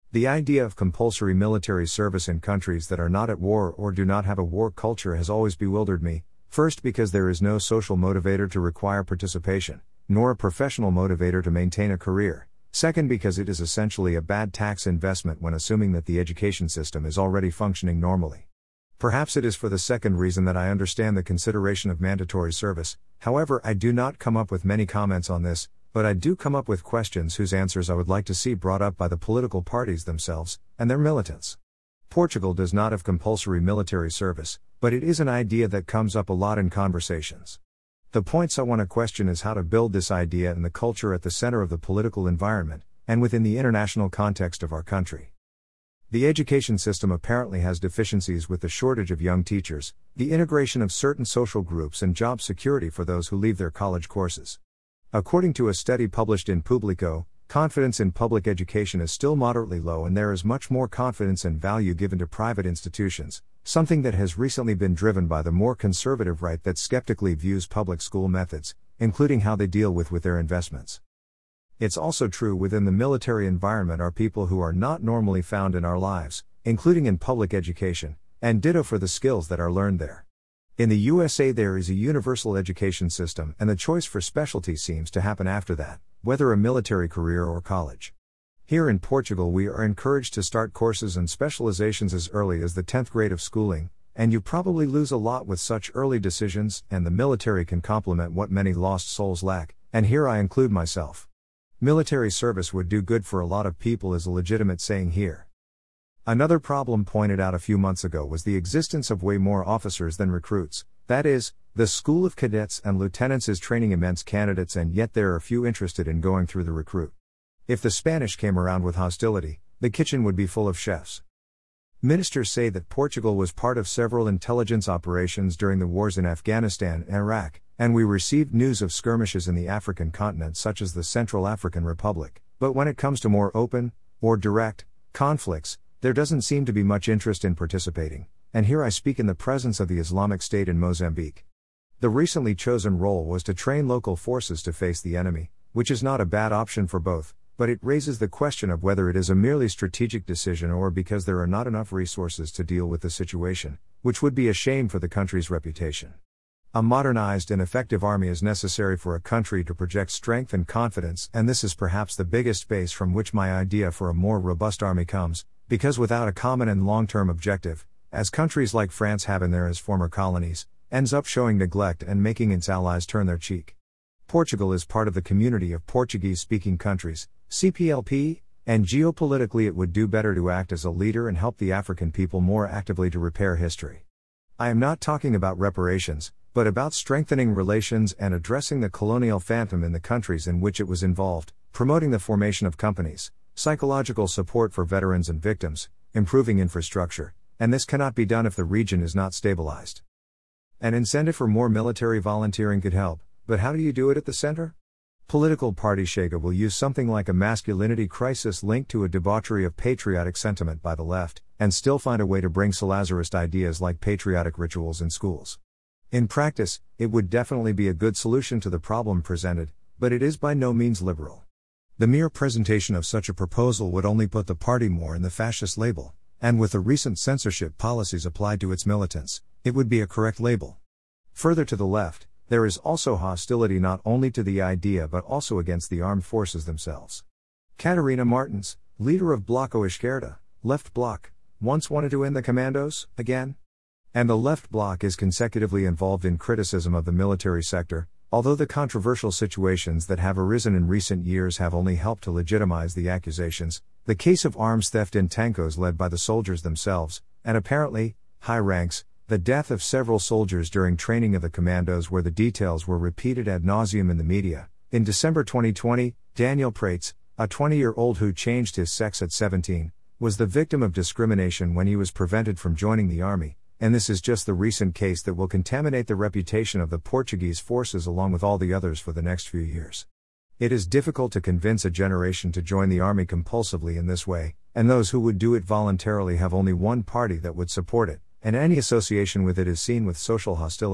The idea of compulsory military service in countries that are not at war or do not have a war culture has always bewildered me, first because there is no social motivator to require participation, nor a professional motivator to maintain a career. Second, because it is essentially a bad tax investment when assuming that the education system is already functioning normally. Perhaps it is for the second reason that I understand the consideration of mandatory service. However, I do not come up with many comments on this, but I do come up with questions whose answers I would like to see brought up by the political parties themselves and their militants. Portugal does not have compulsory military service, but it is an idea that comes up a lot in conversations. The points I want to question is how to build this idea and the culture at the center of the political environment, and within the international context of our country. The education system apparently has deficiencies with the shortage of young teachers, the integration of certain social groups, and job security for those who leave their college courses. According to a study published in Publico, confidence in public education is still moderately low, and there is much more confidence and value given to private institutions, something that has recently been driven by the more conservative right that skeptically views public school methods, including how they deal with their investments. It's also true within the military environment are people who are not normally found in our lives, including in public education, and ditto for the skills that are learned there. In the USA there is a universal education system, and the choice for specialty seems to happen after that, whether a military career or college. Here in Portugal we are encouraged to start courses and specializations as early as the 10th grade of schooling, and you probably lose a lot with such early decisions, and the military can complement what many lost souls lack, and here I include myself. Military service would do good for a lot of people is a legitimate saying here. Another problem pointed out a few months ago was the existence of way more officers than recruits. That is, the School of Cadets and Lieutenants is training immense candidates, and yet there are few interested in going through the recruit. If the Spanish came around with hostility, the kitchen would be full of chefs. Ministers say that Portugal was part of several intelligence operations during the wars in Afghanistan and Iraq, and we received news of skirmishes in the African continent such as the Central African Republic, but when it comes to more open, or direct, conflicts, there doesn't seem to be much interest in participating, and here I speak in the presence of the Islamic State in Mozambique. The recently chosen role was to train local forces to face the enemy, which is not a bad option for both, but it raises the question of whether it is a merely strategic decision or because there are not enough resources to deal with the situation, which would be a shame for the country's reputation. A modernized and effective army is necessary for a country to project strength and confidence, and this is perhaps the biggest base from which my idea for a more robust army comes, because without a common and long-term objective, as countries like France have in their former colonies, ends up showing neglect and making its allies turn their cheek. Portugal is part of the community of Portuguese-speaking countries, CPLP, and geopolitically it would do better to act as a leader and help the African people more actively to repair history. I am not talking about reparations, but about strengthening relations and addressing the colonial phantom in the countries in which it was involved, promoting the formation of companies, psychological support for veterans and victims, improving infrastructure, and this cannot be done if the region is not stabilized. An incentive for more military volunteering could help, but how do you do it at the center? Political party Chega will use something like a masculinity crisis linked to a debauchery of patriotic sentiment by the left, and still find a way to bring Salazarist ideas like patriotic rituals in schools. In practice, it would definitely be a good solution to the problem presented, but it is by no means liberal. The mere presentation of such a proposal would only put the party more in the fascist label, and with the recent censorship policies applied to its militants, it would be a correct label. Further to the left, there is also hostility not only to the idea but also against the armed forces themselves. Catarina Martins, leader of Bloco Esquerda, Left Bloc, once wanted to end the commandos, again. And the Left Bloc is consecutively involved in criticism of the military sector, although the controversial situations that have arisen in recent years have only helped to legitimize the accusations, the case of arms theft in tankos led by the soldiers themselves, and apparently, high ranks, the death of several soldiers during training of the commandos where the details were repeated ad nauseum in the media. In December 2020, Daniel Prates, a 20-year-old who changed his sex at 17, was the victim of discrimination when he was prevented from joining the army, and this is just the recent case that will contaminate the reputation of the Portuguese forces along with all the others for the next few years. It is difficult to convince a generation to join the army compulsively in this way, and those who would do it voluntarily have only one party that would support it, and any association with it is seen with social hostility,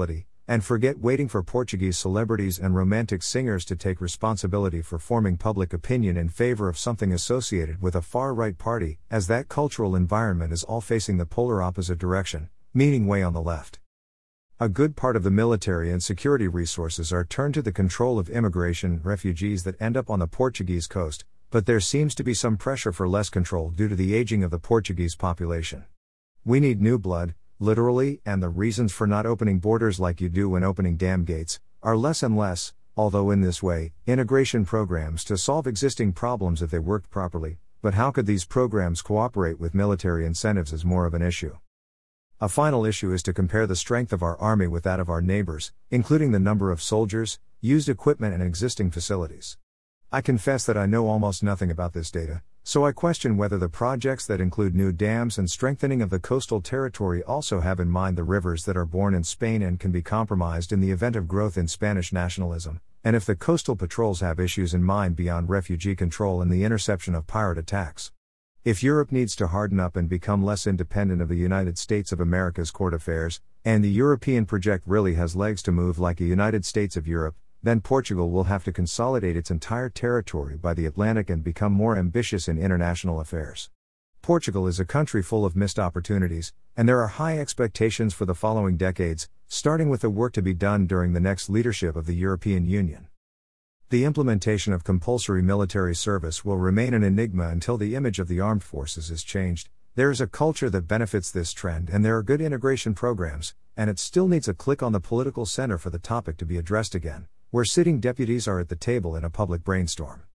and forget waiting for Portuguese celebrities and romantic singers to take responsibility for forming public opinion in favor of something associated with a far-right party, as that cultural environment is all facing the polar opposite direction, meaning way on the left. A good part of the military and security resources are turned to the control of immigration refugees that end up on the Portuguese coast, but there seems to be some pressure for less control due to the aging of the Portuguese population. We need new blood, literally, and the reasons for not opening borders like you do when opening dam gates are less and less, although in this way, integration programs to solve existing problems if they worked properly, but how could these programs cooperate with military incentives is more of an issue. A final issue is to compare the strength of our army with that of our neighbors, including the number of soldiers, used equipment and existing facilities. I confess that I know almost nothing about this data, so I question whether the projects that include new dams and strengthening of the coastal territory also have in mind the rivers that are born in Spain and can be compromised in the event of growth in Spanish nationalism, and if the coastal patrols have issues in mind beyond refugee control and the interception of pirate attacks. If Europe needs to harden up and become less independent of the United States of America's court affairs, and the European project really has legs to move like a United States of Europe, then Portugal will have to consolidate its entire territory by the Atlantic and become more ambitious in international affairs. Portugal is a country full of missed opportunities, and there are high expectations for the following decades, starting with the work to be done during the next leadership of the European Union. The implementation of compulsory military service will remain an enigma until the image of the armed forces is changed. There is a culture that benefits this trend and there are good integration programs, and it still needs a click on the political center for the topic to be addressed again, where sitting deputies are at the table in a public brainstorm.